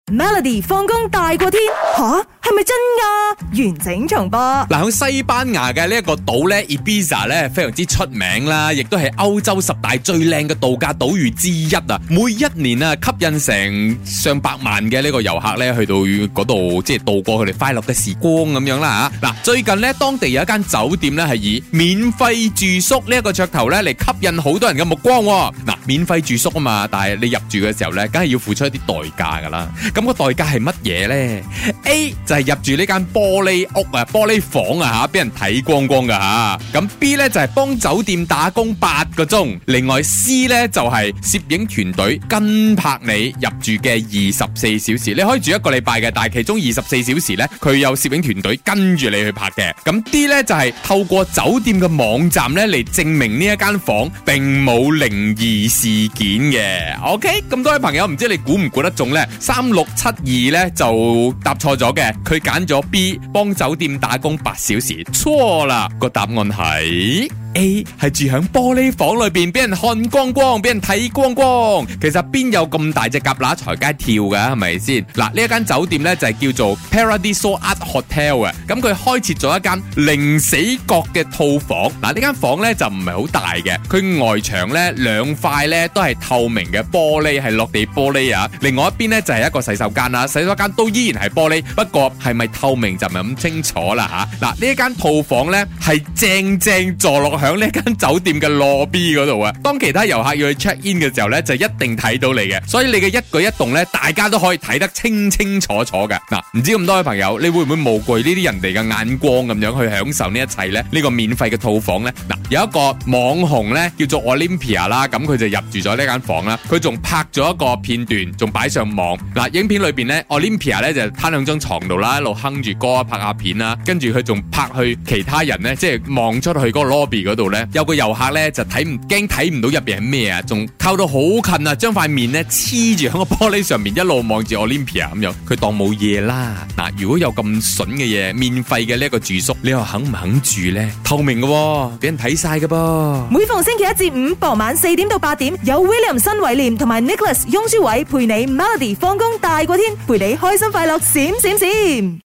Melody 放工大過天吓，係咪真㗎？完整重播。 嗱，喺西班牙嘅呢一個島咧 Ibiza 咧非常之出名啦，亦都係歐洲10大最靚嘅度假島嶼之一啊！每一年啊，吸引成上百萬嘅呢個遊客咧去到嗰度，即係度過佢哋快樂嘅時光咁樣啦吓。嗱，最近咧當地有一間酒店咧係以免費住宿呢一個噱頭咧嚟吸引好多人嘅目光。嗱，免費住宿啊嘛，但係你入住嘅時候咧，梗係要付出一啲代價噶啦。咁個代價係乜嘢咧 ？A 就係入住呢間玻璃屋啊、玻璃房啊吓，俾人睇光光噶吓。咁 B 咧就係幫酒店打工8個鐘。另外 C 咧就係攝影團隊跟拍你入住嘅24小時。你可以住1個禮拜嘅，但係其中24小時咧，佢有攝影團隊跟住你去拍嘅。咁 D 咧就係透過酒店嘅網站咧嚟證明呢一間房並冇靈異事件嘅。OK， 咁多位朋友唔知你估唔估得中咧？3672咧就答錯咗嘅，佢揀咗 B 幫酒店打工8小時，錯啦，個答案係A 係住響玻璃房裏邊，俾人看光光，俾人睇光光。其實邊有咁大隻蛤乸隨街跳噶，係咪先？嗱，呢一間酒店咧就係叫做 Paradiso Art Hotel 啊。咁佢開設咗一間零死角嘅套房。嗱，呢間房咧就唔係好大嘅，佢外牆咧2塊咧都係透明嘅玻璃，係落地玻璃啊。另外一邊咧就係一個洗手間啦，洗手間都依然係玻璃，不過係咪透明就唔係咁清楚啦吓。嗱，呢一間套房咧係正坐落響呢間酒店嘅 lobby 嗰度啊，當其他遊客要去 check in 嘅時候咧，就一定睇到你嘅，所以你嘅一舉一動咧，大家都可以睇得清楚嘅。嗱，唔知咁多位朋友，你會唔會無懼呢啲人哋嘅眼光咁樣去享受呢一切咧？呢個免費嘅套房咧，嗱，有一個網紅咧叫做 Olympia 啦，咁佢就入住咗呢間房啦，佢仲拍咗一個片段，仲擺上網。嗱，影片裏邊咧 Olympia 咧就攤兩張床度啦，一路哼住歌拍下片啦，跟住佢仲拍去其他人咧，即係望出去嗰個 lobby 嗰度咧。有個遊客咧就睇唔到入邊係咩啊，仲靠到好近啊，將塊面咧黐住喺個玻璃上面，一路望住 Olympia 咁樣，佢當冇嘢啦。嗱，如果有咁筍嘅嘢，免費嘅呢一個住宿，你又肯唔肯住咧？透明嘅，俾人睇晒嘅噃。 每逢星期一至五傍晚4點到8點，有 William 新偉廉同埋 Nicholas 雍舒偉陪你 Melody 放工大過天，陪你開心快樂閃閃閃。